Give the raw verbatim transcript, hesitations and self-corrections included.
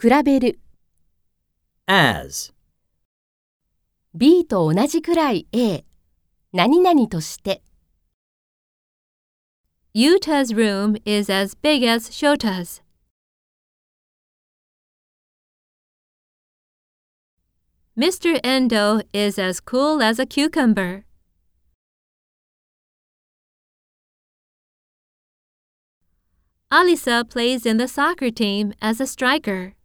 比べる。 as, B と同じくらい A。何々として。 Yuta's room is as big as Shota's. Mister Endo is as cool as a cucumber. Alisa plays in the soccer team as a striker.